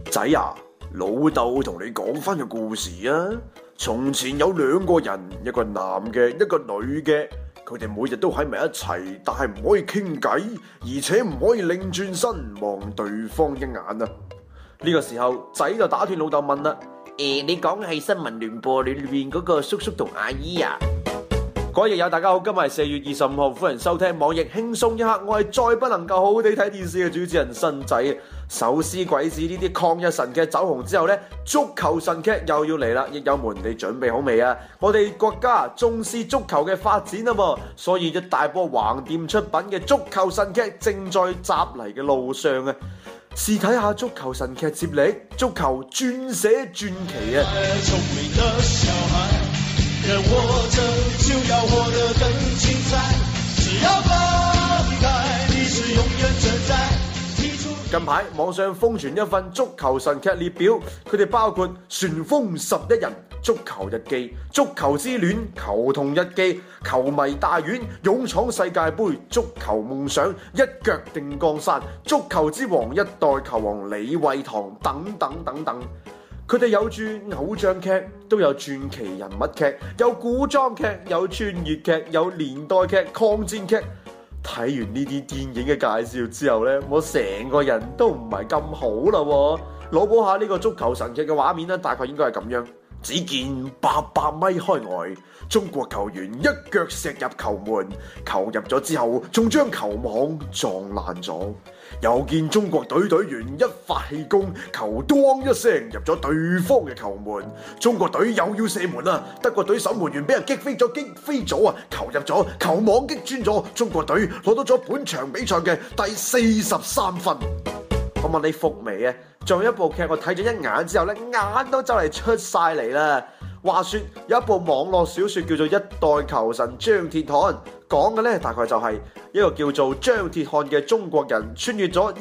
仔啊，老豆同你講翻個故事啊。從前有兩個人，一個男嘅，一個女嘅，佢哋每日都喺埋一齊，但係唔可以傾偈，而且唔可以擰轉身望對方一眼啊。呢個時候，仔就打斷老豆問啦：你講嘅係新聞聯播裏面嗰個叔叔同阿姨啊？各位友友，大家好，今日係4月25號，歡迎收聽網易輕鬆一刻，我係再不能夠好好地睇電視嘅主持人新仔。手撕鬼子呢啲抗日神劇走紅之後呢，足球神劇又要嚟啦！益友們，你準備好未啊？我哋國家重視足球嘅發展啊嘛，所以一大波橫店出品嘅足球神劇正在襲嚟嘅路上啊！試睇下足球神劇接力，足球轉寫傳奇啊！聰明的小孩，人活着就要活得更精彩，只要放開，你是永遠存在。近排網上瘋傳一份足球神劇列表，佢哋包括《旋風11人》、《足球日記》、《足球之戀》、《球童日記》、《球迷大院》、《勇闖世界盃》、《足球夢想》、《一腳定江山》、《足球之王》、《一代球王李惠堂》等等等等。佢哋有住偶像劇，都有傳奇人物劇，有古裝劇，有穿越劇，有年代劇、抗戰劇。睇完呢啲電影嘅介紹之後呢，我成個人都唔係咁好啦喎。腦補下呢個足球神劇嘅畫面呢，大概應該係咁樣。只見800米開外，中國球員一腳射入球門，球入咗之後，仲將球網撞爛咗。又見中國隊隊員一發氣功，球當一聲入咗對方嘅球門，中國隊又要射門啦，德國隊守門員俾人擊飛咗啊！球入咗，球網擊穿咗，中國隊攞到咗本場比賽嘅第43分。我問你服未啊？仲有一部劇我睇咗一眼之後咧，眼都就嚟出晒嚟啦。話說有一部網絡小說叫做《一代球神張鐵漢》，講嘅咧大概就係一個叫做張鐵漢嘅中國人穿越咗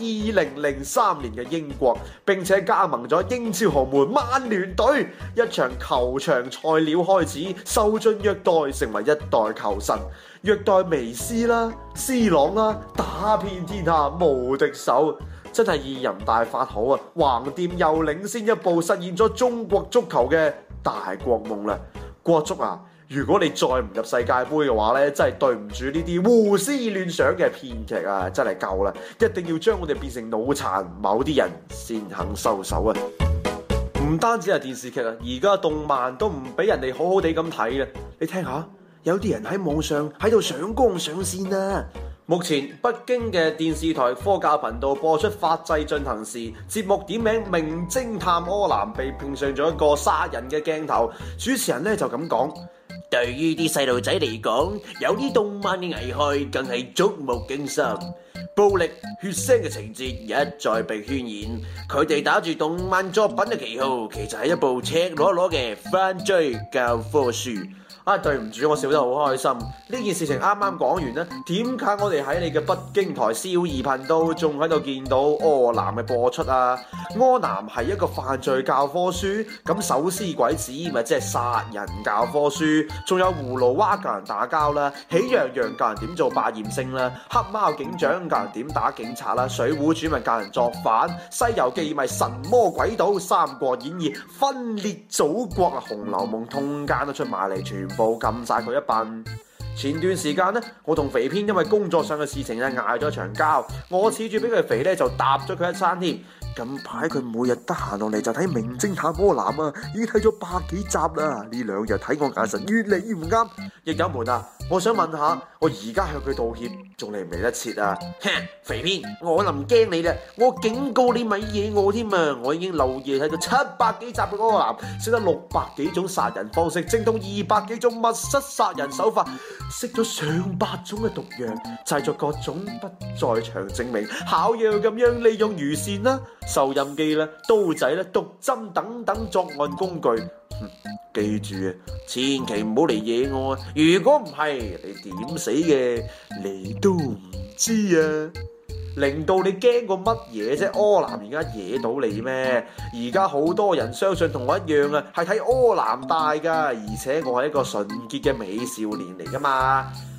2003年嘅英國，並且加盟咗英超豪門曼聯隊。一場球場菜鳥開始，受盡虐待，成為一代球神，虐待梅斯啦、C 朗啦，打遍天下無敵手。真係二人大法好啊！橫店又領先一步，實現咗中國足球嘅大國夢啦！國足啊，如果你再唔入世界盃嘅話呢，真係對唔住呢啲胡思亂想嘅編劇啊！真係夠啦，一定要將我哋變成腦殘，某啲人先肯收手啊！唔單止係電視劇啊，而家動漫都唔俾人哋好好地咁睇啦！你聽下，有啲人喺網上喺度上綱上線啊！目前北京嘅電視台科教頻道播出《法制進行時》節目，點名名偵探柯南被拼上咗一個殺人嘅鏡頭。主持人咧就咁講：對於啲細路仔嚟講，有啲動漫嘅危害更係觸目驚心，暴力血腥嘅情節一再被渲染。佢哋打住動漫作品嘅旗號，其實係一部赤裸裸嘅犯罪教科書。對唔住，我笑得好開心。呢件事情啱啱講完呢，點解我哋喺你嘅北京台少兒頻道仲喺度見到柯南嘅播出啊？柯南係一個犯罪教科書，咁手撕鬼子咪即係殺人教科書，仲有葫蘆娃教人打交啦，喜羊羊教人點做百厭星啦，黑貓警長教人點打警察啦，水滸傳咪教人作反，西遊記咪神魔鬼島，三國演義分裂祖國啊，紅樓夢通姦都出埋嚟，全部撳晒佢一笨。前段時間呢，我同肥編因為工作上嘅事情咧嗌咗場交，我恃住俾佢肥咧就搭咗佢一餐添。近排佢每日得閒落嚟就睇名偵探柯南啊，已經睇咗百幾集啦。呢2日睇我眼神越嚟越唔啱。益友們啊，我想問下，我而家向佢道歉，仲嚟唔嚟得切啊？哼，肥編，我就唔驚你啦，我警告你咪惹我添啊！我已經漏夜睇到700幾集嘅柯南，識得600幾種殺人方式，精通200幾種密室殺人手法，識咗上百種嘅毒藥，製作各種不在場證明，巧妙咁樣利用魚線啦、收音機啦、刀仔啦、毒針等等作案工具。記住啊，千祈唔好嚟惹我啊！如果唔係，你點死嘅你都唔知啊！令到你驚過乜嘢啫？柯南而家惹到你咩？而家好多人相信同我一樣啊，係睇柯南大噶，而且我係一個純潔嘅美少年嚟噶嘛。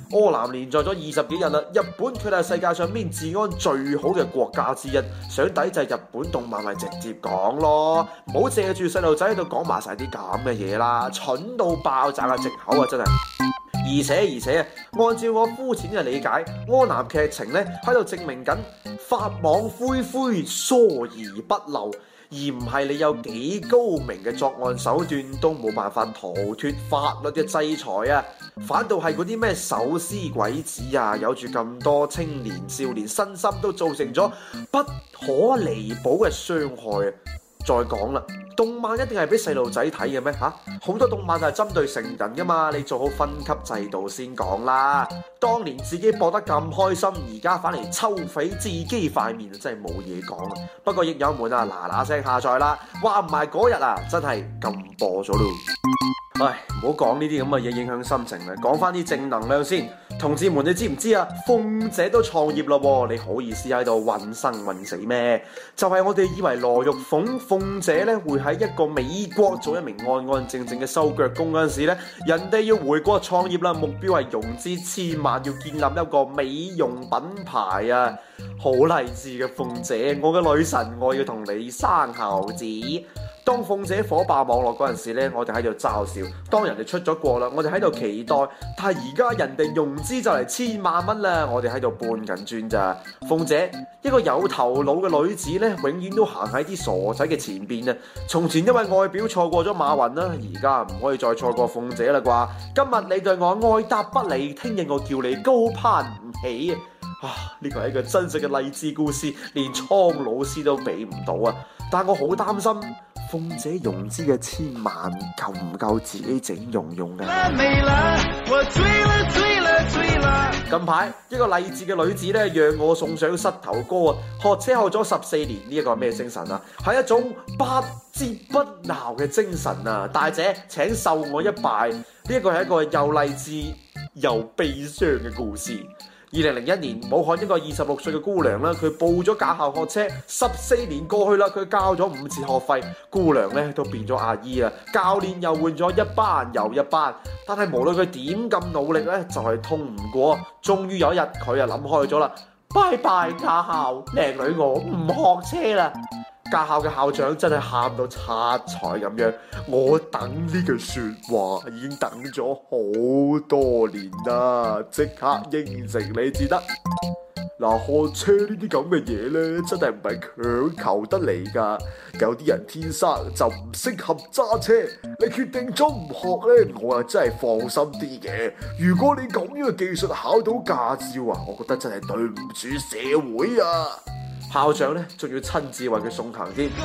柯南連載咗20幾日啦，日本佢哋係世界上邊治安最好嘅國家之一，想抵制日本動漫咪直接講咯，唔好借住細路仔喺度講埋晒啲咁嘅嘢啦，蠢到爆炸嘅藉口啊真係。而且按照我膚淺嘅理解，柯南劇情咧喺度證明緊法網恢恢，疏而不漏。而唔係你有幾高明嘅作案手段都冇辦法逃脫法律嘅制裁啊！反倒係嗰啲咩手撕鬼子啊，有住咁多青年少年身心都造成咗不可彌補嘅傷害啊！再講啦，動漫一定係俾細路仔睇嘅咩嚇？好多動漫係針對成人噶嘛，你做好分級制度先講啦。當年自己播得咁開心，而家反嚟抽匪自己塊面，真係冇嘢講啊！不過益友們啊，嗱聲下載啦，話唔埋嗰日啊，真係禁播咗咯。唉，唔好講呢啲咁嘅嘢影響心情啦，講翻啲正能量先。同志們，你知唔知啊？鳳姐都創業啦，你好意思喺度混生混死咩？就係我哋以為羅玉鳳姐咧會喺一個美國做一名安安靜靜嘅收腳工嗰陣時咧，人哋要回國創業啦，目標係融資1000萬，要建立一個美容品牌啊！好勵志嘅鳳姐，我嘅女神，我要同你生猴子。當鳳姐火爆網絡嗰陣時咧，我哋喺度嘲笑；當人哋出咗國啦，我哋喺度期待。但係而家人哋融資就嚟1000萬蚊啦，我哋喺度搬緊磚咋。鳳姐一個有頭腦嘅女子咧，永遠都行喺啲傻仔嘅前邊啊！從前因為外表錯過咗馬雲啦，而家唔可以再錯過鳳姐啦啩？今日你對我愛答不理，聽日我叫你高攀唔起啊！呢個係一個真實嘅勵志故事，連蒼老師都比唔到啊！但我好擔心。鳳姐融資嘅1000萬夠唔夠自己整容用㗎？近排一個勵志嘅女子咧，讓我送上膝頭哥啊！學車學咗14年，呢一個係咩精神啊？係一種不折不撓嘅精神啊！大姐請受我一拜，呢一個係一個又勵志又悲傷嘅故事。2001年，武漢一個26歲嘅姑娘啦，佢報咗駕校學車，14年過去啦，佢交咗5次學費，姑娘咧都變咗阿姨啦，教練又換咗一班又一班，但係無論佢點咁努力咧，就係通唔過。終於有一日，佢啊諗開咗啦，拜拜駕校，靚女我唔學車啦。駕校嘅校長真係喊到七彩咁樣，我等呢句說話已經等咗好多年啦，即刻應承你至得。嗱，學車呢啲咁嘅嘢呢，真係唔係強求得嚟噶，有啲人天生就唔適合揸車，你決定咗唔學呢，我啊真係放心啲嘅。如果你咁樣嘅技術考到駕照啊，我覺得真係對唔住社會啊！校長咧，仲要親自為佢送行添。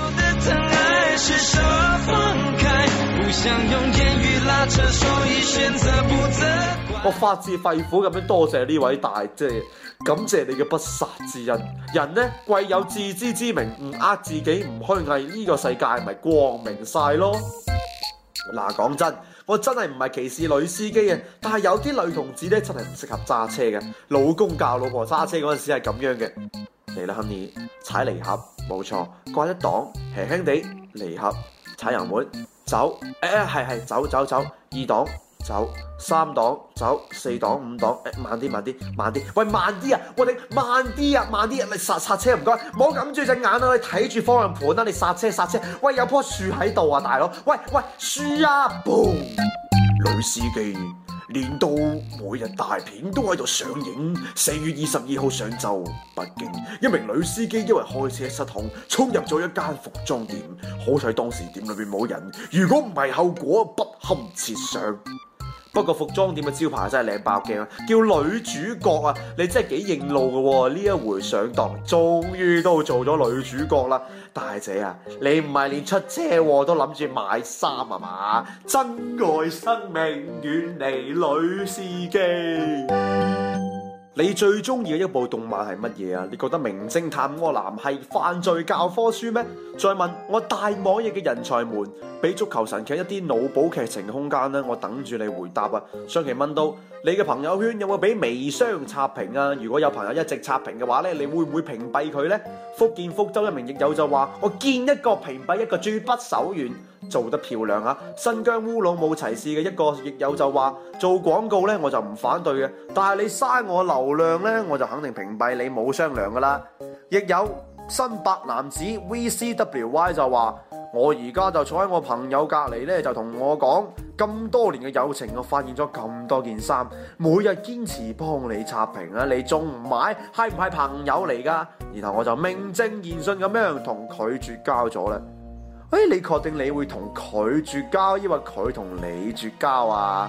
我發自肺腑咁樣多謝呢位大姐，感謝你嘅不殺之恩。人呢，貴有自知之明，唔呃自己，唔虛偽，呢個世界咪光明晒咯。嗱，講真，我真係唔係歧視女司機嘅，但係有啲女同志咧真係唔適合揸車嘅。老公教老婆揸車嗰陣時係咁樣嘅。嚟啦 ，Honey， 踩離合，冇錯，掛一檔，輕輕地離合，踩油門，走，係走，二檔走，3檔走，4檔5檔，慢啲，喂慢啲啊，我哋慢啲啊，你剎車唔該，唔好揞住隻眼啊，你睇住方向盤啊，你剎車，喂有棵樹喺度啊，大佬，喂樹啊 ，boom， 女司機。年度每日大片都喺度上映。4月22號上晝，北京一名女司機因為開車失控，衝入咗一間服裝店，好彩當時店裏邊冇人，如果唔係後果不堪設想。不過服裝店嘅招牌真係靚爆鏡啊！叫女主角啊，你真係幾認路嘅喎！呢一回上當，終於都做咗女主角啦！大姐啊，你唔係連出車禍都諗住買衫啊嘛？珍愛生命，遠離女司機。你最中意嘅一部動漫係乜嘢啊？你覺得名偵探柯南係犯罪教科書咩？再問我大網易嘅人才們，俾足球神劇一啲腦補劇情嘅空間呢？我等住你回答啊！上期問到你嘅朋友圈有冇俾微商刷屏啊？如果有朋友一直刷屏嘅話呢，你會唔會屏蔽佢呢？福建福州一名亦友就話：我見一個屏蔽一個，絕不手軟。 做得漂亮啊！新疆烏魯木齊市嘅一個亦友就話：做廣告呢，我就唔反對嘅，但係你嘥我流量呢，我就肯定屏蔽你，冇商量噶啦。亦有新白男子 VCWY 就話：我而家就坐喺我朋友隔離呢，就同我講，咁多年嘅友情，我發現咗咁多件衫，每日堅持幫你刷屏啊，你仲唔買？係唔係朋友嚟噶？然後我就名正言順咁樣同佢絕交咗啦。你確定你會同佢絕交，抑或佢同你絕交啊？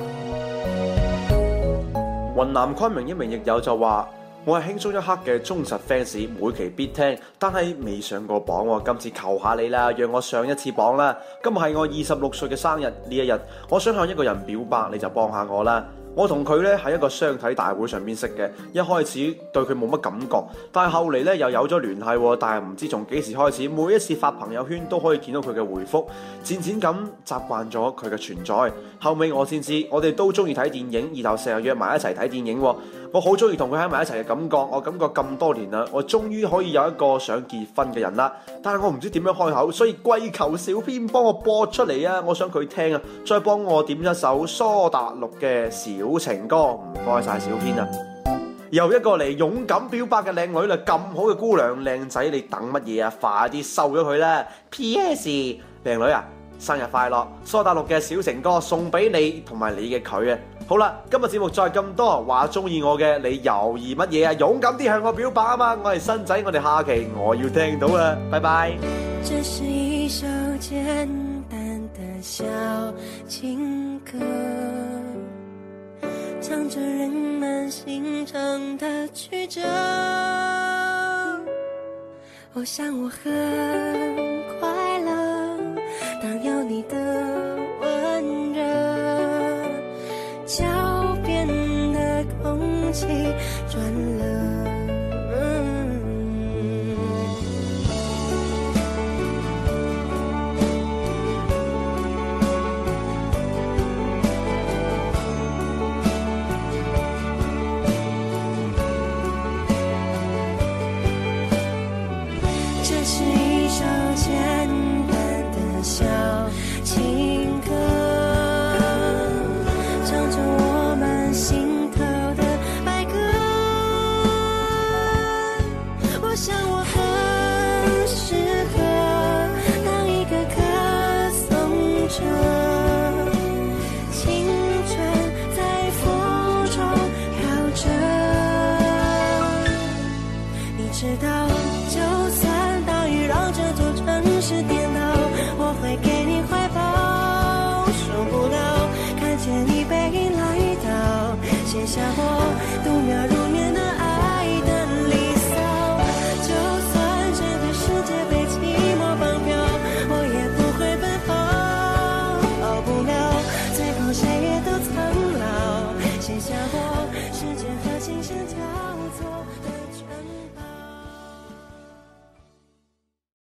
雲南昆明一名亦友就話：我係輕鬆一刻嘅忠實 fans，每期必聽，但係未上過榜喎。今次求下你啦，讓我上一次榜啦。今日係我26歲嘅生日，呢一日，我想向一個人表白，你就幫下我啦。我同佢咧喺一個相睇大會上面識嘅，一開始對佢冇乜感覺，但係後嚟咧又有咗聯繫，但係唔知從幾時開始，每一次發朋友圈都可以見到佢嘅回覆，漸漸咁習慣咗佢嘅存在。後尾我先知，我哋都中意睇電影，然後成日約埋一齊睇電影。我好中意同佢喺埋一齊嘅感覺，我感覺咁多年啦，我終於可以有一個想結婚嘅人啦，但係我唔知點樣開口，所以跪求小編幫我播出嚟啊！我想佢聽啊，再幫我點一首蘇打綠嘅小情歌，唔該晒小編啊！又一個嚟勇敢表白嘅靚女啦，咁好嘅姑娘靚仔，你等乜嘢啊？快啲收咗佢啦 ！P.S. 靚女啊，生日快樂！蘇打綠嘅小情歌送俾你同埋你嘅佢啊！好啦，今日節目再咁多，話中意我嘅你猶豫乜嘢啊？勇敢啲向我表白啊嘛！我係新仔，我哋下期我要聽到啊！拜拜。 這是一首簡單的小情歌，唱着人們心腸的曲折。我想我和